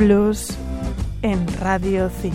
Blues en Radio 5.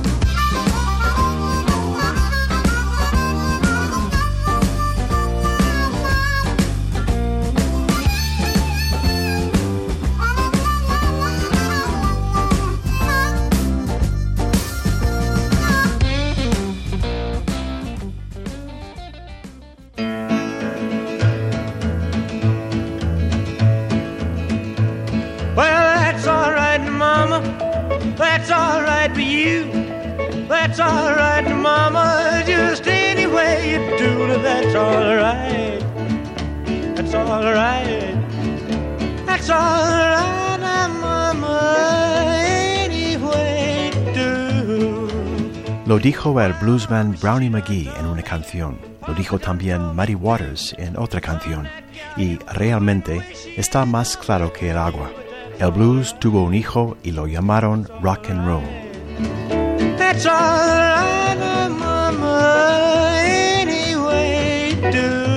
That's all right for you. That's all right, Mama. Just any way you do it, that's all right. That's all right. That's all right, Mama. Any way you do. Lo dijo el bluesman Brownie McGhee en una canción. Lo dijo también Muddy Waters en otra canción. Y realmente está más claro que el agua. El blues tuvo un hijo y lo llamaron rock and roll. That's all right, Mama, any way you do.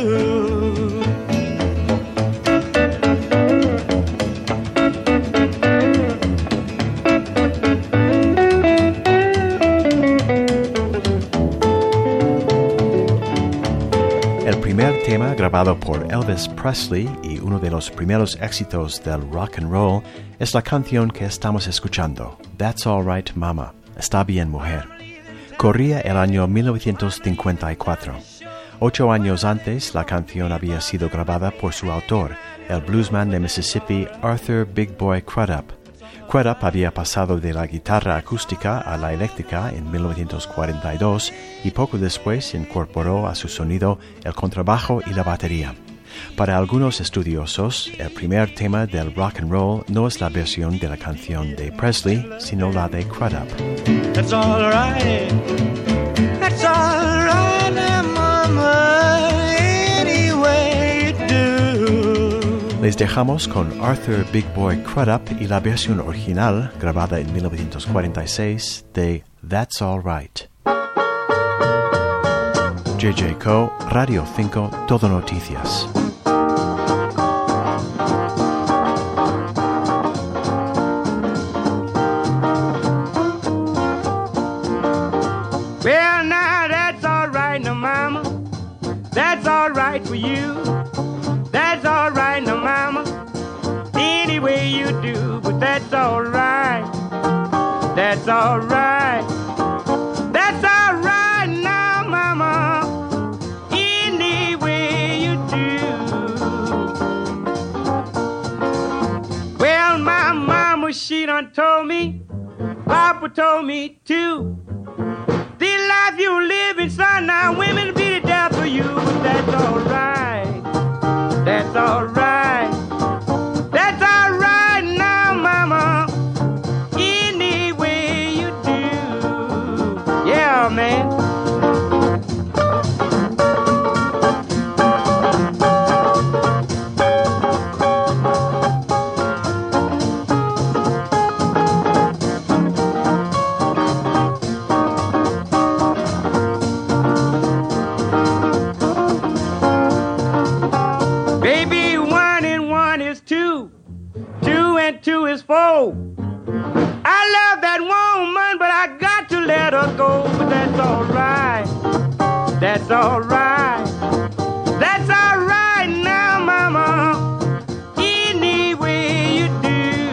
El primer tema grabado por Elvis Presley y uno de los primeros éxitos del rock and roll es la canción que estamos escuchando, That's All Right Mama, Está Bien Mujer. Corría el año 1954. 8 años antes, la canción había sido grabada por su autor, el bluesman de Mississippi Arthur Big Boy Crudup. Crudup había pasado de la guitarra acústica a la eléctrica en 1942 y poco después incorporó a su sonido el contrabajo y la batería. Para algunos estudiosos, el primer tema del rock and roll no es la versión de la canción de Presley, sino la de Crudup. That's all right. That's all right, Mama, any way you do. Les dejamos con Arthur Big Boy Crudup y la versión original, grabada en 1946, de That's All Right. JJ Co, Radio 5, Todo Noticias. Well, now that's all right, now, Mama. That's all right for you. That's all right, now, Mama. Any way you do, but that's all right. That's all right. That's all right now, Mama. Any way you do. Well, my mama, she done told me. Papa told me too. The life you living, son, now women be the death for you, but that's all right. That's all right. That's all right now, Mama. Any way you do. Yeah, man. Baby, 1 and 1 is 2. 2 and 2 is 4. I love that woman, but I got to let her go. But that's all right. That's all right. That's all right now, Mama. Any way you do.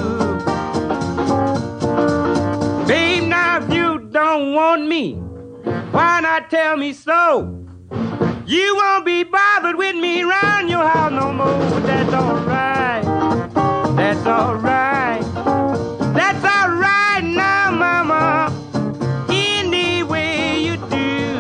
Babe, now if you don't want me, why not tell me so? You won't be bothered with me around your house no more, but that's all right. That's all right. That's all right now, Mama. Any way you do.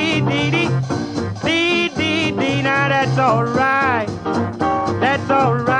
That's all right. That's all right.